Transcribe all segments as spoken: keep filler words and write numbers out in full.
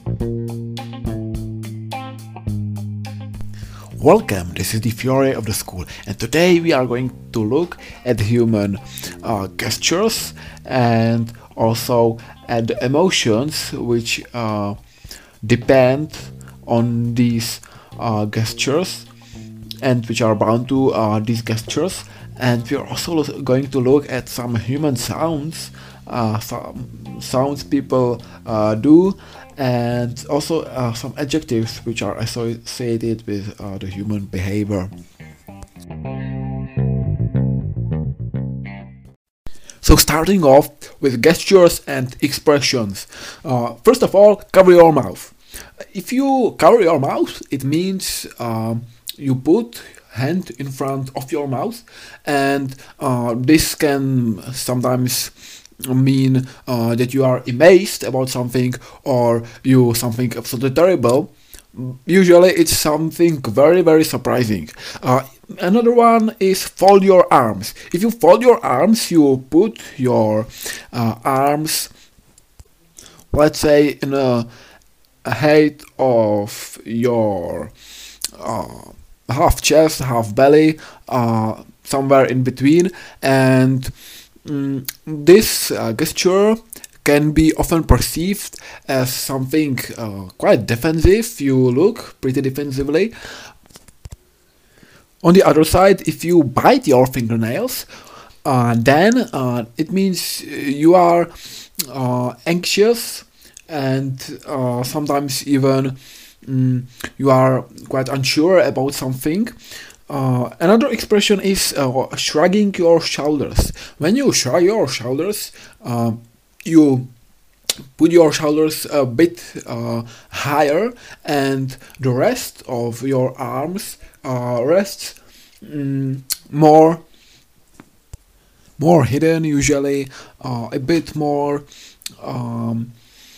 Welcome, this is the Fury of the School, and today we are going to look at human uh, gestures and also at the emotions which uh, depend on these uh, gestures and which are bound to uh, these gestures. And we are also going to look at some human sounds, uh, some sounds people uh, do, and also uh, some adjectives which are associated with uh, the human behavior. So starting off with gestures and expressions. Uh, first of all, cover your mouth. If you cover your mouth, it means um, you put hand in front of your mouth, and uh, this can sometimes mean uh, that you are amazed about something or you something absolutely terrible. Usually it's something very very surprising. Uh, another one is fold your arms. If you fold your arms, you put your uh, arms, let's say, in a, a height of your uh, half chest, half belly, uh, somewhere in between, and mm, this uh, gesture can be often perceived as something uh, quite defensive. You look pretty defensively. On the other side, if you bite your fingernails, uh, then uh, it means you are uh, anxious and uh, sometimes even Mm, you are quite unsure about something. Uh, another expression is uh, shrugging your shoulders. When you shrug your shoulders, uh, you put your shoulders a bit uh, higher, and the rest of your arms uh, rests mm, more more hidden, usually uh, a bit more um,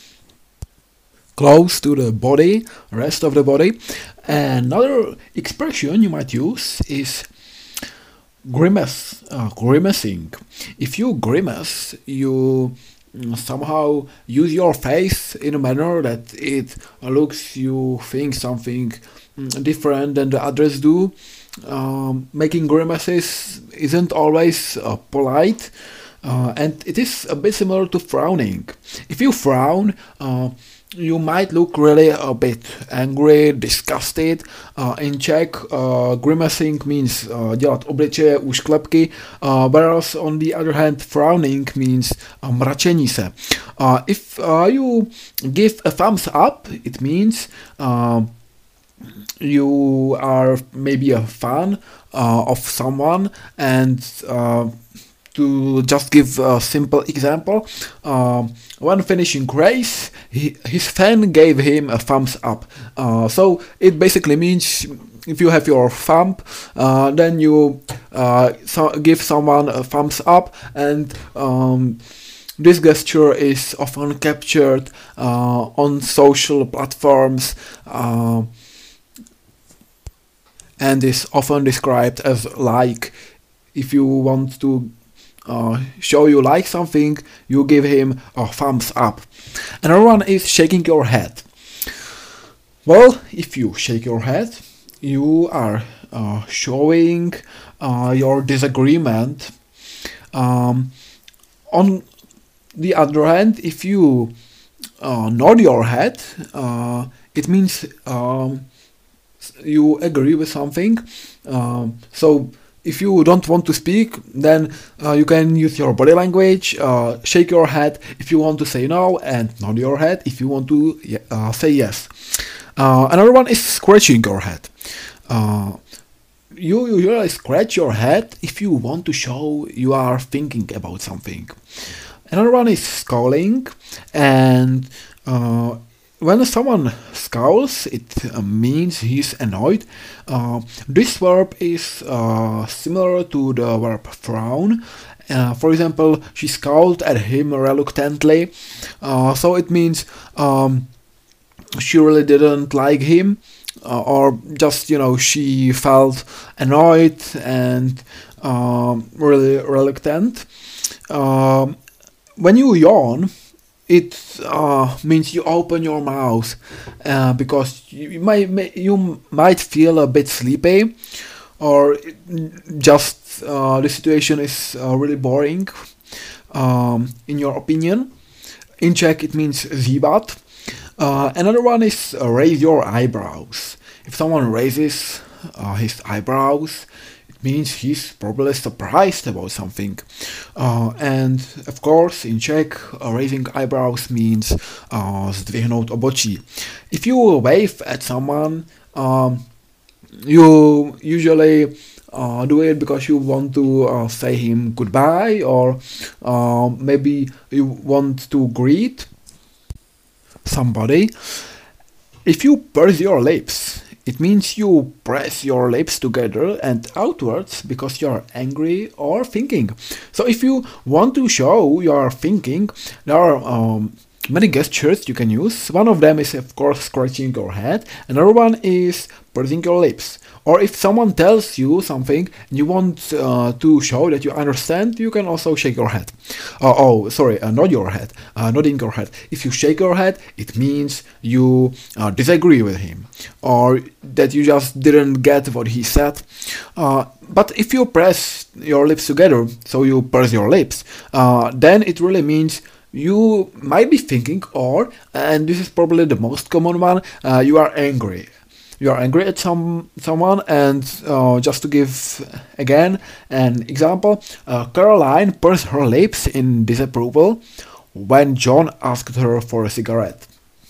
close to the body, rest of the body. Another expression you might use is grimace, uh, grimacing. If you grimace, you somehow use your face in a manner that it looks you think something different than the others do. Um, making grimaces isn't always uh, polite, uh, and it is a bit similar to frowning. If you frown, uh, you might look really a bit angry, disgusted. Uh, in Czech, uh, grimacing means uh, dělat obličeje, úšklepky, uh, whereas on the other hand, frowning means uh, mračení se. Uh, if uh, you give a thumbs up, it means uh, you are maybe a fan uh, of someone, and uh, to just give a simple example, uh, when finishing race, he, his fan gave him a thumbs up. Uh, so it basically means if you have your thumb, uh, then you uh, so give someone a thumbs up, and um, this gesture is often captured uh, on social platforms uh, and is often described as like. If you want to Uh, show you like something, you give him a thumbs up. Another one is shaking your head. Well, if you shake your head, you are uh, showing uh, your disagreement. Um, on the other hand, if you uh, nod your head, uh, it means um, you agree with something. Um, so if you don't want to speak, then uh, you can use your body language, uh, shake your head if you want to say no, and nod your head if you want to uh, say yes. Uh, another one is scratching your head. Uh, you usually scratch your head if you want to show you are thinking about something. Another one is scowling, and uh, when someone scowls, it uh, means he's annoyed. Uh, this verb is uh, similar to the verb frown. Uh, for example, she scowled at him reluctantly. Uh, so it means um, she really didn't like him, uh, or just, you know, she felt annoyed and um, really reluctant. Um, when you yawn, it uh, means you open your mouth uh, because you might you might feel a bit sleepy, or just uh, the situation is uh, really boring. Um, in your opinion, in Czech it means zíbat. Uh, another one is uh, raise your eyebrows. If someone raises uh, his eyebrows, it means he's probably surprised about something. Uh, and of course, in Czech, uh, raising eyebrows means uh, zdvihnout obočí. If you wave at someone, um, you usually uh, do it because you want to uh, say him goodbye, or uh, maybe you want to greet somebody. If you purse your lips, it means you press your lips together and outwards because you're angry or thinking. So if you want to show you're thinking, there are um, many gestures you can use. One of them is of course scratching your head. Another one is pursing your lips. Or if someone tells you something and you want uh, to show that you understand, you can also shake your head. Uh, oh, sorry, uh, nod your head, uh, nodding your head. If you shake your head, it means you uh, disagree with him, or that you just didn't get what he said. Uh, but if you press your lips together, so you purse your lips, uh, then it really means you might be thinking, or, and this is probably the most common one, uh, you are angry. You are angry at some someone, and uh, just to give again an example, uh, Caroline pursed her lips in disapproval when John asked her for a cigarette.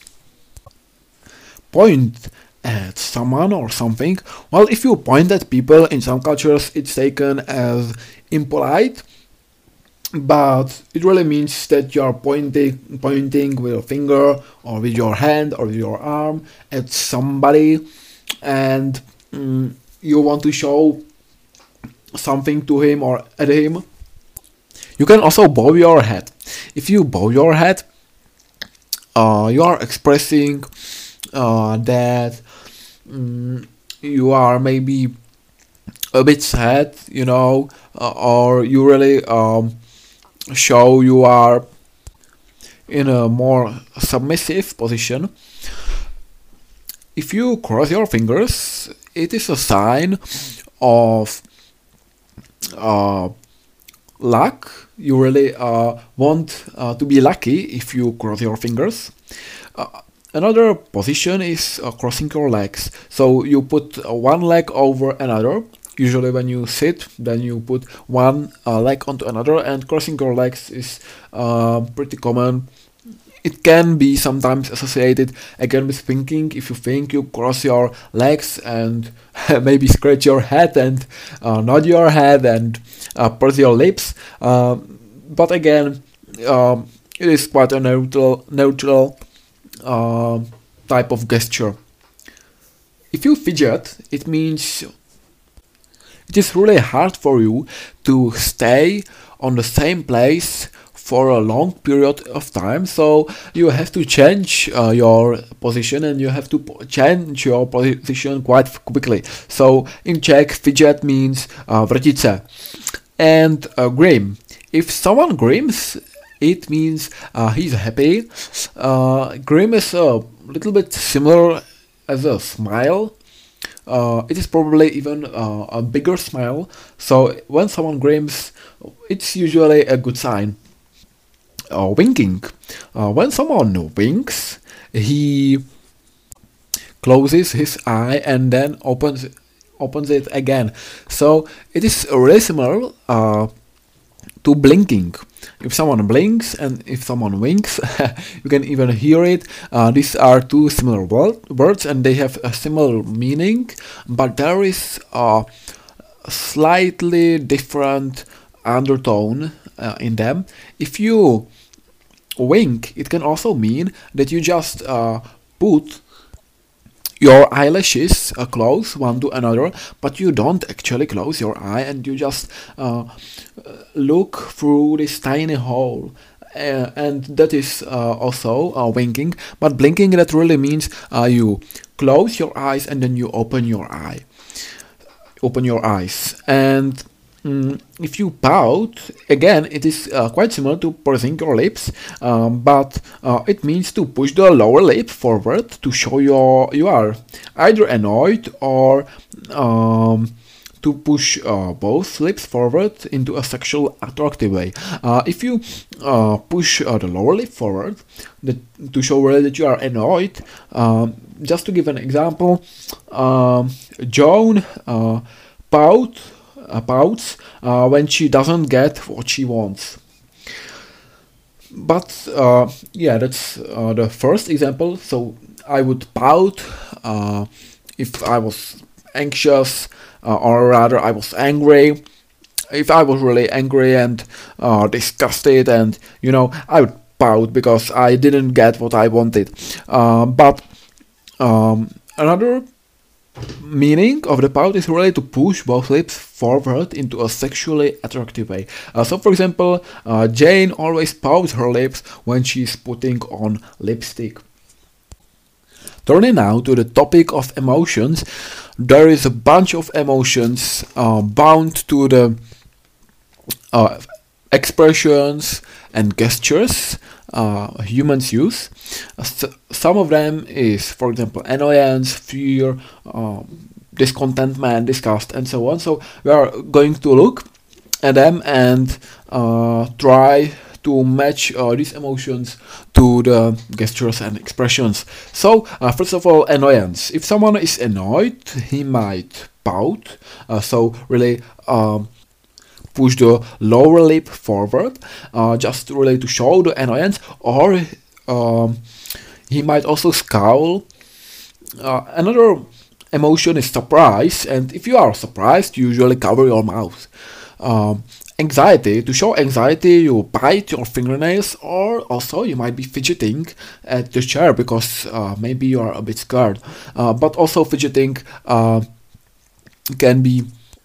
Point at someone or something. Well, if you point at people, in some cultures it's taken as impolite, but it really means that you are pointing pointing with a finger or with your hand or with your arm at somebody, and mm, you want to show something to him or at him. You can also bow your head. If you bow your head, uh, you are expressing uh, that mm, you are maybe a bit sad, you know, uh, or you really um, show you are in a more submissive position. If you cross your fingers, it is a sign of uh, luck. You really uh, want uh, to be lucky if you cross your fingers. Uh, another position is uh, crossing your legs. So you put uh, one leg over another. Usually when you sit, then you put one uh, leg onto another, and crossing your legs is uh, pretty common. It can be sometimes associated again with thinking. If you think, you cross your legs and maybe scratch your head and uh, nod your head and uh, purse your lips. Uh, but again, um, it is quite a neutral, neutral uh, type of gesture. If you fidget, it means it is really hard for you to stay on the same place for a long period of time, so you have to change uh, your position, and you have to change your position quite quickly. So in Czech, fidget means uh, vrtit se. And uh, grim. If someone grims, it means uh, he's happy. Uh, grim is a little bit similar as a smile. Uh, it is probably even uh, a bigger smile. So when someone grims, it's usually a good sign. Uh, winking. Uh, when someone winks, he closes his eye and then opens opens it again. So it is really similar uh, to blinking. If someone blinks and if someone winks, you can even hear it. Uh, these are two similar word, words, and they have a similar meaning, but there is a slightly different undertone uh, in them. If you wink, it can also mean that you just uh, put your eyelashes uh, close one to another, but you don't actually close your eye, and you just uh, look through this tiny hole. Uh, and that is uh, also uh, winking. But blinking, that really means uh, you close your eyes and then you open your eye. Open your eyes. And Mm, if you pout, again, it is uh, quite similar to pursing your lips, um, but uh, it means to push the lower lip forward to show your you are either annoyed or um, to push uh, both lips forward into a sexual attractive way. Uh, if you uh, push uh, the lower lip forward the, to show really that you are annoyed, um, just to give an example, um, Joan uh, pout uh, pouts uh, when she doesn't get what she wants. But uh, yeah, that's uh, the first example. So I would pout uh, if I was anxious, uh, or rather I was angry. If I was really angry and uh, disgusted, and you know, I would pout because I didn't get what I wanted. Uh, but um, another meaning of the pout is really to push both lips forward into a sexually attractive way. Uh, so for example, uh, Jane always pouts her lips when she's putting on lipstick. Turning now to the topic of emotions, there is a bunch of emotions uh, bound to the uh, expressions and gestures uh, humans use. Uh, s- some of them is, for example, annoyance, fear, um, discontentment, disgust, and so on. So we are going to look at them and uh, try to match uh, these emotions to the gestures and expressions. So uh, first of all, annoyance. If someone is annoyed, he might pout. Uh, so really um, push the lower lip forward, uh, just really to show the annoyance, or um, he might also scowl. Uh, another emotion is surprise, and if you are surprised, you usually cover your mouth. Um, anxiety. To show anxiety, you bite your fingernails, or also you might be fidgeting at the chair because uh, maybe you are a bit scared. Uh, but also fidgeting uh, can be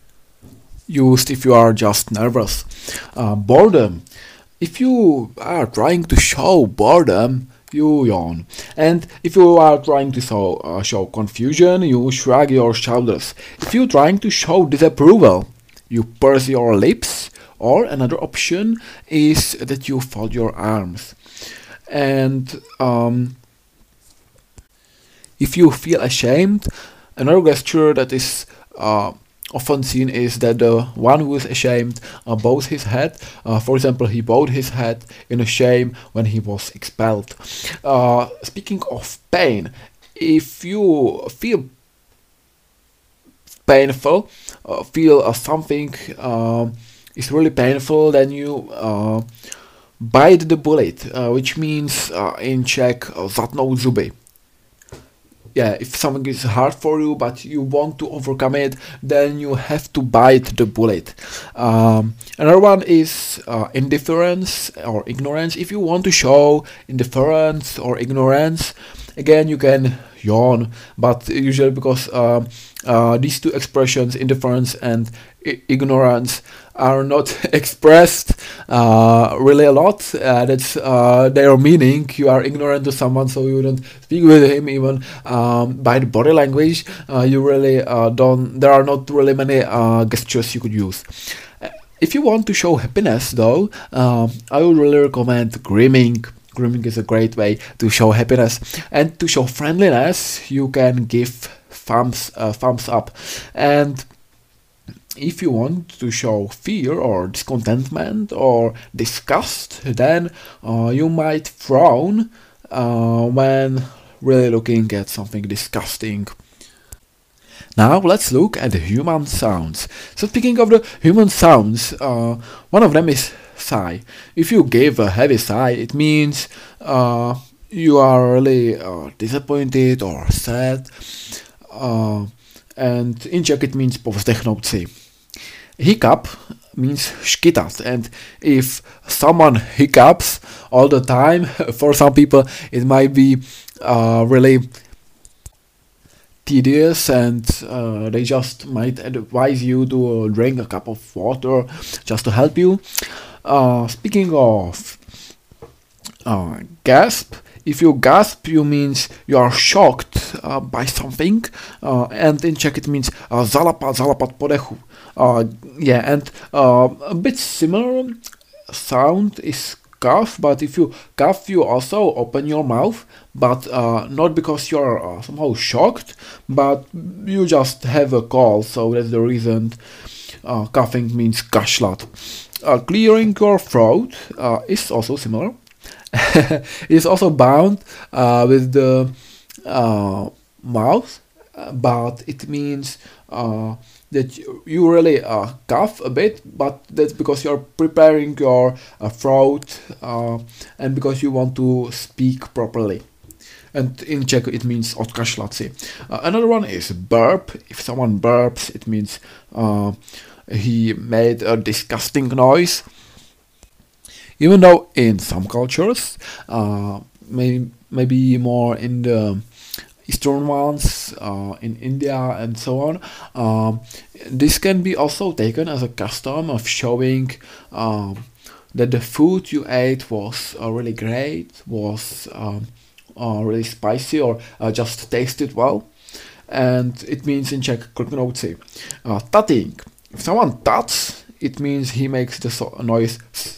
used if you are just nervous. Uh, boredom. If you are trying to show boredom, you yawn. And if you are trying to show, uh, show confusion, you shrug your shoulders. If you're trying to show disapproval, you purse your lips, or another option is that you fold your arms. And um, if you feel ashamed, another gesture that is uh, often seen is that the one who is ashamed uh, bows his head. Uh, for example, he bowed his head in a shame when he was expelled. Uh, speaking of pain, if you feel painful, uh, feel uh, something uh, is really painful, then you uh, bite the bullet, uh, which means uh, in Czech uh, zatnout zuby. Yeah, if something is hard for you but you want to overcome it, then you have to bite the bullet. Um, another one is uh, indifference or ignorance. If you want to show indifference or ignorance, again you can yawn, but usually because uh, uh, these two expressions, indifference and I- ignorance, are not expressed uh, really a lot. Uh, that's uh, their meaning. You are ignorant to someone, so you don't speak with him even um, by the body language. Uh, you really uh, don't. There are not really many uh, gestures you could use. Uh, If you want to show happiness, though, um, I would really recommend grimming. Grooming is a great way to show happiness, and to show friendliness, you can give thumbs uh, thumbs up. And if you want to show fear or discontentment or disgust, then uh, you might frown uh, when really looking at something disgusting. Now let's look at the human sounds. So speaking of the human sounds, uh, one of them is sigh. If you give a heavy sigh, it means uh, you are really uh, disappointed or sad. Uh, and in Czech it means povzdechnout si. Hiccup means škytat, and if someone hiccups all the time, for some people it might be uh, really tedious, and uh, they just might advise you to drink a cup of water just to help you. Uh, speaking of uh, gasp, if you gasp, you means you are shocked uh, by something, uh, and in Czech it means uh, zalapat, zalapat podechu. Uh, yeah, and uh, a bit similar sound is cough, but if you cough, you also open your mouth, but uh, not because you're uh, somehow shocked, but you just have a cold, so that's the reason uh, coughing means kašlat. Uh, clearing your throat uh, is also similar. It's also bound uh, with the uh, mouth, but it means uh, that you really uh, cough a bit, but that's because you're preparing your uh, throat uh, and because you want to speak properly. And in Czech it means odkašlat si. Uh, another one is burp. If someone burps, it means uh, he made a disgusting noise. Even though in some cultures, uh, may, maybe more in the Eastern ones, uh, in India and so on, um, this can be also taken as a custom of showing um, that the food you ate was uh, really great, was um, uh, really spicy, or uh, just tasted well. And it means in Czech kliknout si. Uh, tutting. If someone tuts, it means he makes the so- noise.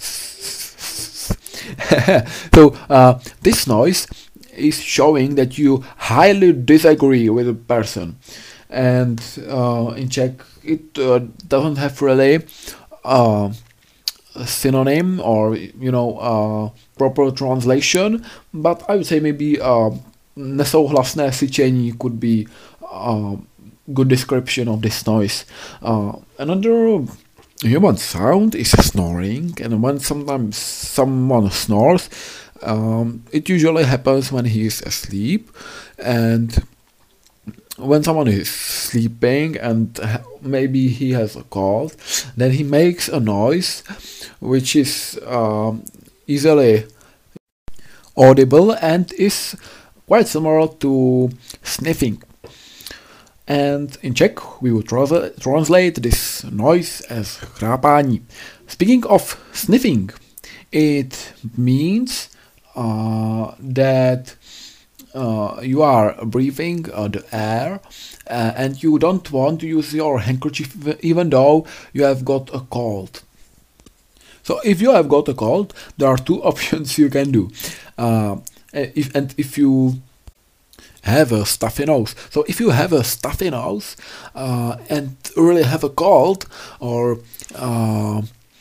So uh, this noise is showing that you highly disagree with a person, and uh, in Czech it uh, doesn't have really uh, a synonym or you know uh, proper translation, but I would say maybe uh, nesouhlasné syčení could be a good description of this noise. Uh, another human sound is snoring, and when sometimes someone snores, um, it usually happens when he is asleep, and when someone is sleeping and ha- maybe he has a cold, then he makes a noise which is um, easily audible and is quite similar to sniffing. And in Czech we would tra- translate this noise as chrápání. Speaking of sniffing, it means uh, that uh, you are breathing uh, the air uh, and you don't want to use your handkerchief even though you have got a cold. So if you have got a cold, there are two options you can do. Uh, if and if you have a stuffy nose. So if you have a stuffy nose uh, and really have a cold or uh,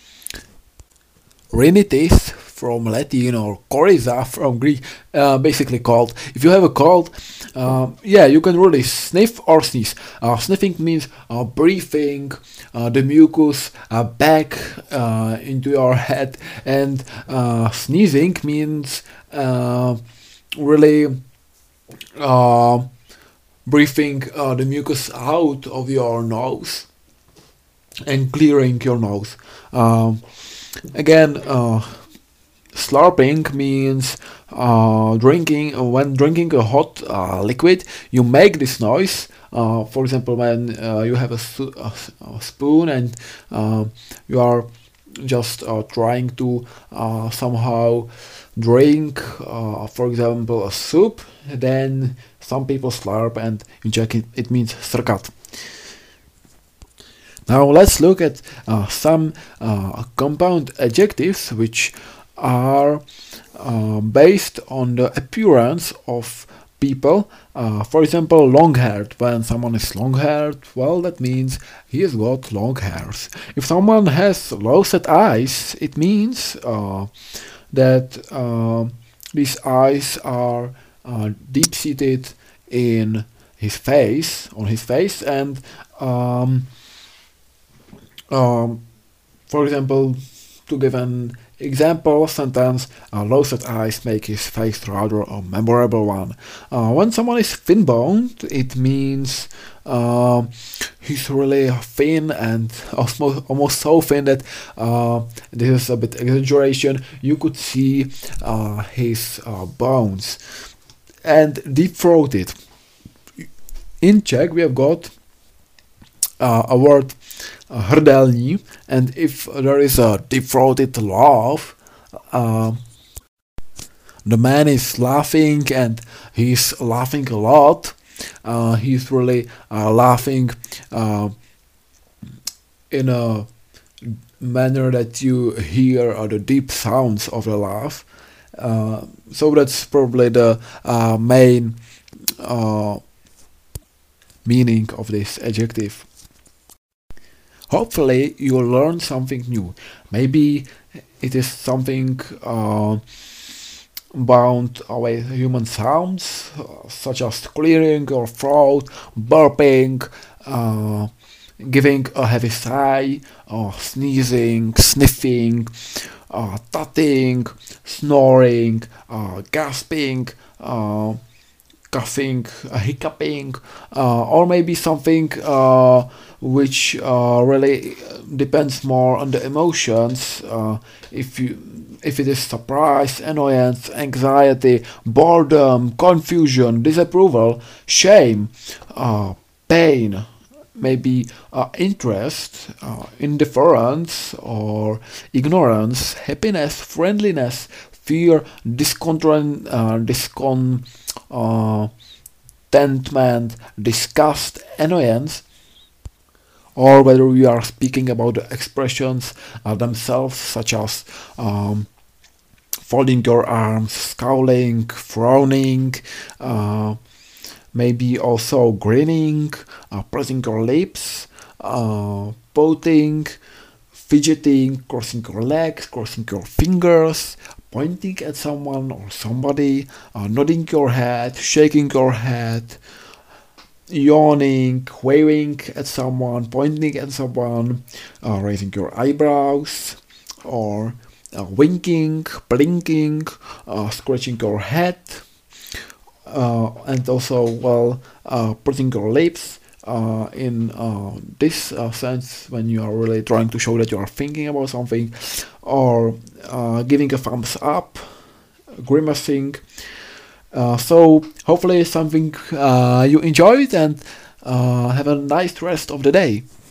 rhinitis from Latin or coryza from Greek, uh, basically cold. If you have a cold, uh, yeah, you can really sniff or sneeze. Uh, sniffing means uh, breathing uh, the mucus uh, back uh, into your head, and uh, sneezing means uh, really Uh, breathing uh, the mucus out of your nose and clearing your nose. Um, again, uh, slurping means uh, drinking. Uh, when drinking a hot uh, liquid, you make this noise. Uh, for example, when uh, you have a, su- a, a spoon and uh, you are just uh, trying to uh, somehow drink, uh, for example, a soup, then some people slurp, and in Czech it, it means srkat. Now let's look at uh, some uh, compound adjectives which are uh, based on the appearance of people. Uh, for example, long-haired. When someone is long-haired, well, that means he has got long hairs. If someone has low-set eyes, it means uh, that uh, these eyes are uh, deep-seated in his face, on his face, and um, um, for example, to give an example sentence, uh, low-set eyes make his face rather a memorable one. Uh, when someone is thin-boned, it means uh, he's really thin and almost, almost so thin that uh, this is a bit exaggeration. You could see uh, his uh, bones. And deep-throated. In Czech we have got uh, a word uh, hrdelní, and if there is a deep-throated laugh, uh, the man is laughing and he's laughing a lot. Uh, he's really uh, laughing uh, in a manner that you hear uh, the deep sounds of the laugh. Uh, so that's probably the uh, main uh, meaning of this adjective. Hopefully you learn something new. Maybe it is something uh, bound with human sounds, uh, such as clearing your throat, burping, uh, giving a heavy sigh, uh, sneezing, sniffing, uh, tutting, snoring, uh, gasping, uh, coughing, uh, hiccuping, uh, or maybe something uh, which uh, really depends more on the emotions. Uh, if you, if it is surprise, annoyance, anxiety, boredom, confusion, disapproval, shame, uh, pain, maybe uh, interest, uh, indifference, or ignorance, happiness, friendliness, fear, discontent, uh, discon, uh, contentment, disgust, annoyance, or whether we are speaking about the expressions uh, themselves, such as um, folding your arms, scowling, frowning, uh, maybe also grinning, uh, pressing your lips, uh, pouting, fidgeting, crossing your legs, crossing your fingers, pointing at someone or somebody, uh, nodding your head, shaking your head, yawning, waving at someone, pointing at someone, uh, raising your eyebrows, or uh, winking, blinking, uh, scratching your head, uh, and also, well, uh, putting your lips uh, in uh, this uh, sense when you are really trying to show that you are thinking about something, or uh, giving a thumbs up, grimacing. Uh, so hopefully something uh, you enjoyed, and uh, have a nice rest of the day.